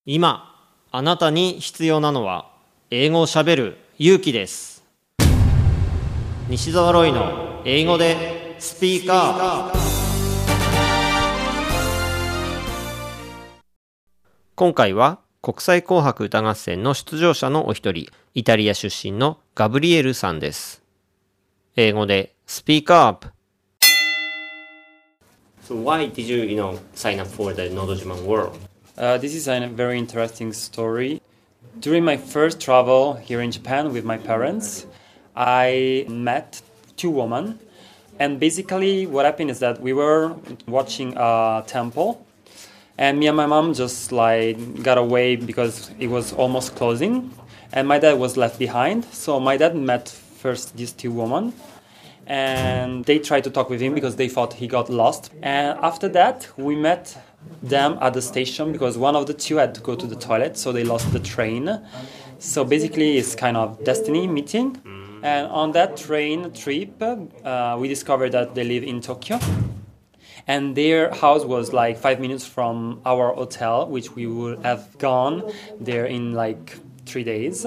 今あなたに必要なのは英語をしゃべる勇気です。西澤ロイの英語でスピーカー。今回は国際紅白歌合戦の出場者のお一人、イタリア出身のガブリエルさんです。英語でスピーカーアップ。So why did you, sign up for the No Dojima World? This is a very interesting story. During my first travel here in Japan with my parents, I met two women. And basically what happened is that we were watching a temple. And me and my mom just got away because it was almost closing. And my dad was left behind. So my dad met first these two women. And they tried to talk with him because they thought he got lost. And after that, we met them at the station because one of the two had to go to the toilet, so they lost the train. So basically it's kind of destiny meeting. And on that train trip, we discovered that they live in Tokyo. And their house was 5 minutes from our hotel, which we would have gone there in 3 days.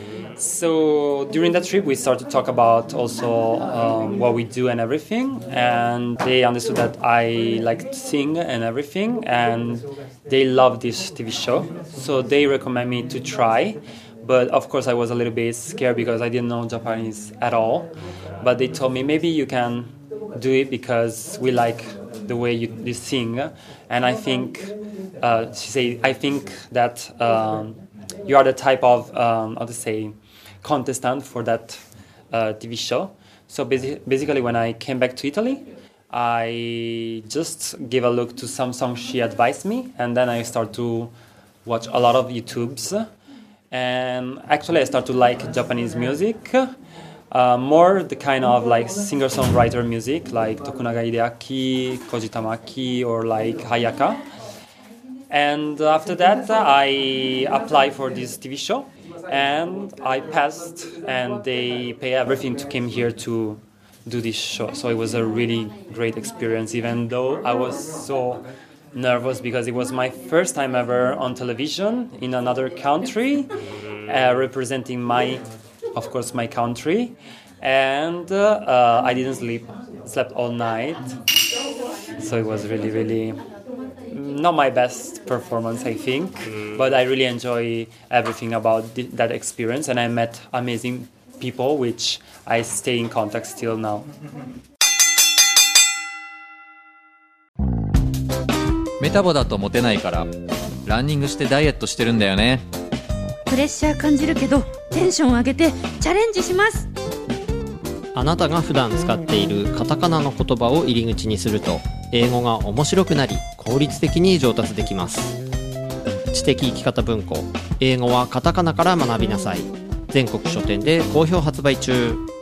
So during that trip we started to talk about also what we do and everything, and they understood that I like to sing and everything, and they love this TV show, so they recommend me to try. But of course I was a little bit scared because I didn't know Japanese at all, but they told me maybe you can do it because we like the way you sing, and I think she said I think that you are the type of contestant for that TV show. So basically when I came back to Italy, I just gave a look to some songs she advised me, and then I started to watch a lot of YouTubes, and actually I started to like Japanese music, more the kind of singer-songwriter music like Tokunaga Hideaki, Koji Tamaki, or Hayaka. And after that, I applied for this TV show, and I passed, and they pay everything to come here to do this show. So it was a really great experience, even though I was so nervous because it was my first time ever on television in another country, representing my country, and I didn't slept all night. So it was really, really not my best performance, I think, but I really enjoy everything about that experience, and I met amazing people, which I stay in contact still now. メタボだとモテないからランニングしてダイエットしてるんだよね。 プレッシャー感じるけどテンション上げてチャレンジします。 あなたが普段使っているカタカナの言葉を入り口にすると英語が面白くなり効率的に上達できます。知的生き方文庫、英語はカタカナから学びなさい。全国書店で好評発売中。